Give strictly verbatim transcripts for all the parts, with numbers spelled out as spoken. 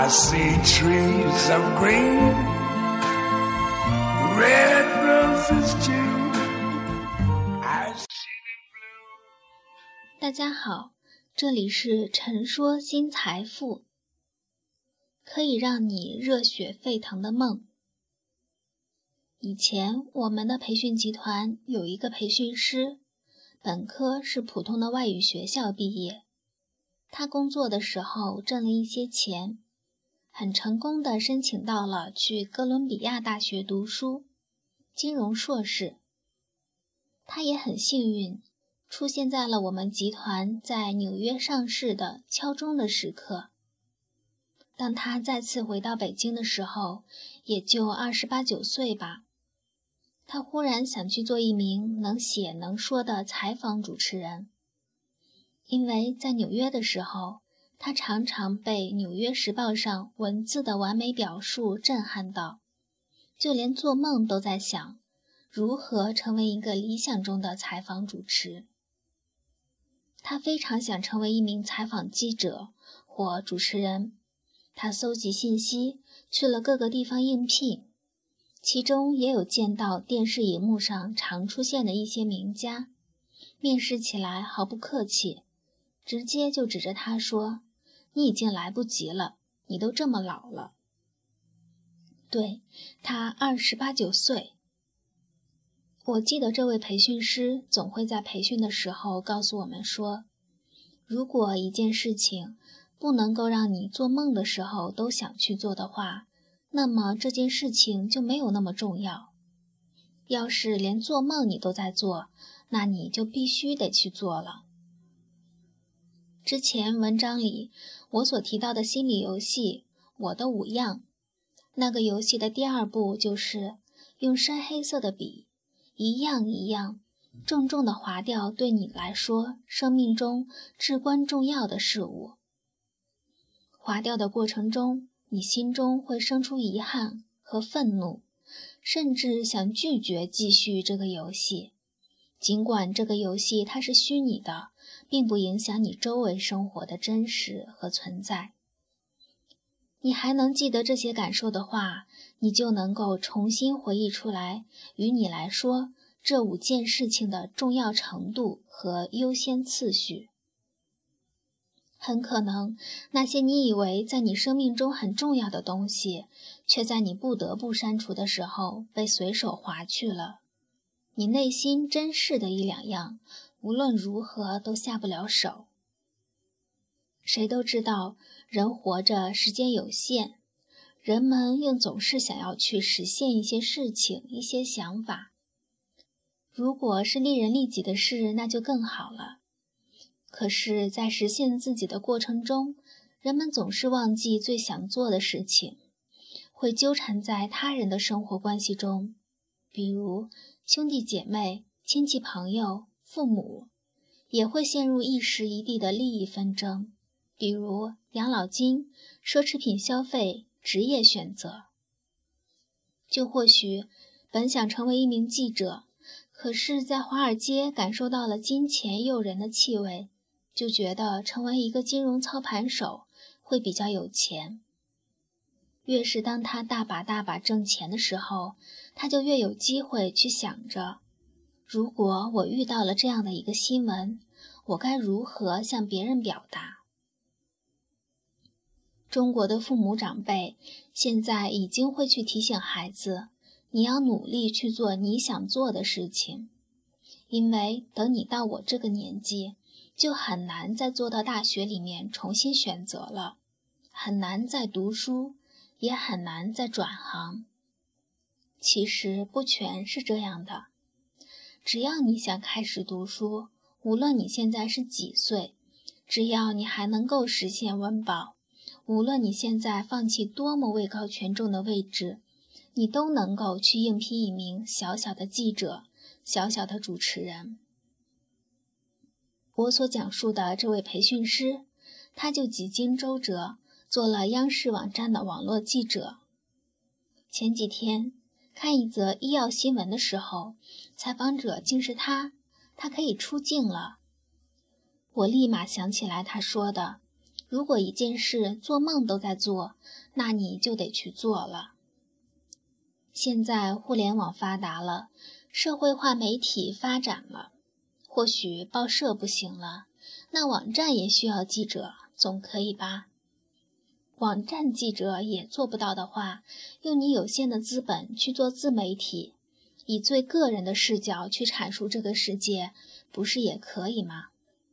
I see trees of green, red roses too. I see blue. 大家好，这里是陈说新财富，可以让你热血沸腾的梦。以前我们的培训集团有一个培训师，本科是普通的外语学校毕业，他工作的时候挣了一些钱，很成功地申请到了去哥伦比亚大学读书，金融硕士。他也很幸运，出现在了我们集团在纽约上市的敲钟的时刻。当他再次回到北京的时候，也就二十八九岁吧。他忽然想去做一名能写能说的采访主持人，因为在纽约的时候，他常常被《纽约时报》上文字的完美表述震撼到，就连做梦都在想如何成为一个理想中的采访主持。他非常想成为一名采访记者或主持人，他搜集信息，去了各个地方应聘，其中也有见到电视荧幕上常出现的一些名家，面试起来毫不客气，直接就指着他说：“你已经来不及了，你都这么老了。”对，他二十八九岁。我记得这位培训师总会在培训的时候告诉我们说，如果一件事情不能够让你做梦的时候都想去做的话，那么这件事情就没有那么重要。要是连做梦你都在做，那你就必须得去做了。之前文章里我所提到的心理游戏我的五样，那个游戏的第二步就是用深黑色的笔一样一样重重地划掉对你来说生命中至关重要的事物。划掉的过程中，你心中会生出遗憾和愤怒，甚至想拒绝继续这个游戏。尽管这个游戏它是虚拟的，并不影响你周围生活的真实和存在。你还能记得这些感受的话，你就能够重新回忆出来，于你来说，这五件事情的重要程度和优先次序。很可能，那些你以为在你生命中很重要的东西，却在你不得不删除的时候被随手划去了。你内心珍视的一两样，无论如何都下不了手。谁都知道，人活着时间有限，人们又总是想要去实现一些事情、一些想法。如果是利人利己的事，那就更好了。可是，在实现自己的过程中，人们总是忘记最想做的事情，会纠缠在他人的生活关系中，比如兄弟姐妹、亲戚朋友、父母，也会陷入一时一地的利益纷争，比如养老金、奢侈品消费、职业选择。就或许本想成为一名记者，可是在华尔街感受到了金钱诱人的气味，就觉得成为一个金融操盘手会比较有钱。越是当他大把大把挣钱的时候，他就越有机会去想着，如果我遇到了这样的一个新闻，我该如何向别人表达？中国的父母长辈现在已经会去提醒孩子，你要努力去做你想做的事情，因为等你到我这个年纪，就很难再坐到大学里面重新选择了，很难再读书，也很难再转行。其实不全是这样的，只要你想开始读书，无论你现在是几岁，只要你还能够实现温饱，无论你现在放弃多么位高权重的位置，你都能够去应聘一名小小的记者，小小的主持人。我所讲述的这位培训师，他就几经周折，做了央视网站的网络记者。前几天看一则医药新闻的时候，采访者竟是他，他可以出镜了。我立马想起来他说的， 如果一件事做梦都在做，那你就得去做了。现在互联网发达了，社会化媒体发展了，或许报社不行了，那网站也需要记者，总可以吧？网站记者也做不到的话，用你有限的资本去做自媒体，以最个人的视角去阐述这个世界，不是也可以吗？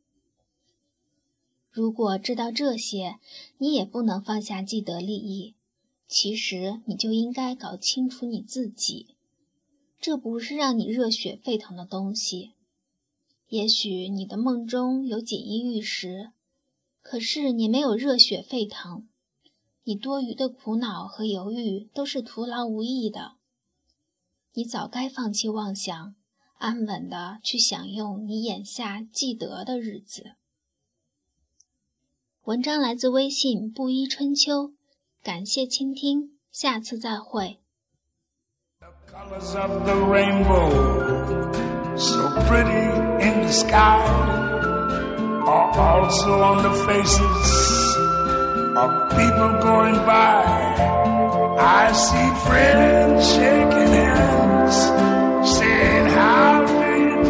如果知道这些，你也不能放下既得利益，其实你就应该搞清楚你自己，这不是让你热血沸腾的东西。也许你的梦中有锦衣玉食，可是你没有热血沸腾，你多余的苦恼和犹豫都是徒劳无益的。你早该放弃妄想，安稳地去享用你眼下既得的日子。文章来自微信布衣春秋，感谢倾听，下次再会。 The colors of the rainbow, so pretty in the sky, are also on the faces of people going by. I see friends shaking hands, saying how do you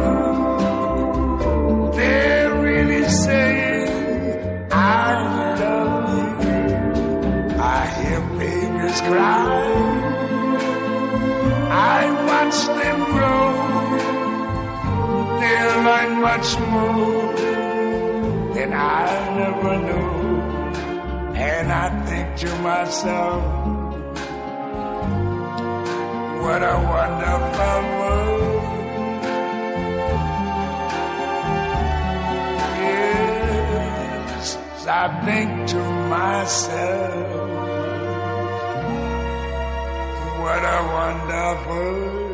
do. They're really saying I love you. I hear babies cry, I watch them grow. They'll learn much more than I never knew. And I think to myself, what a wonderful world. Yes, I think to myself, what a wonderful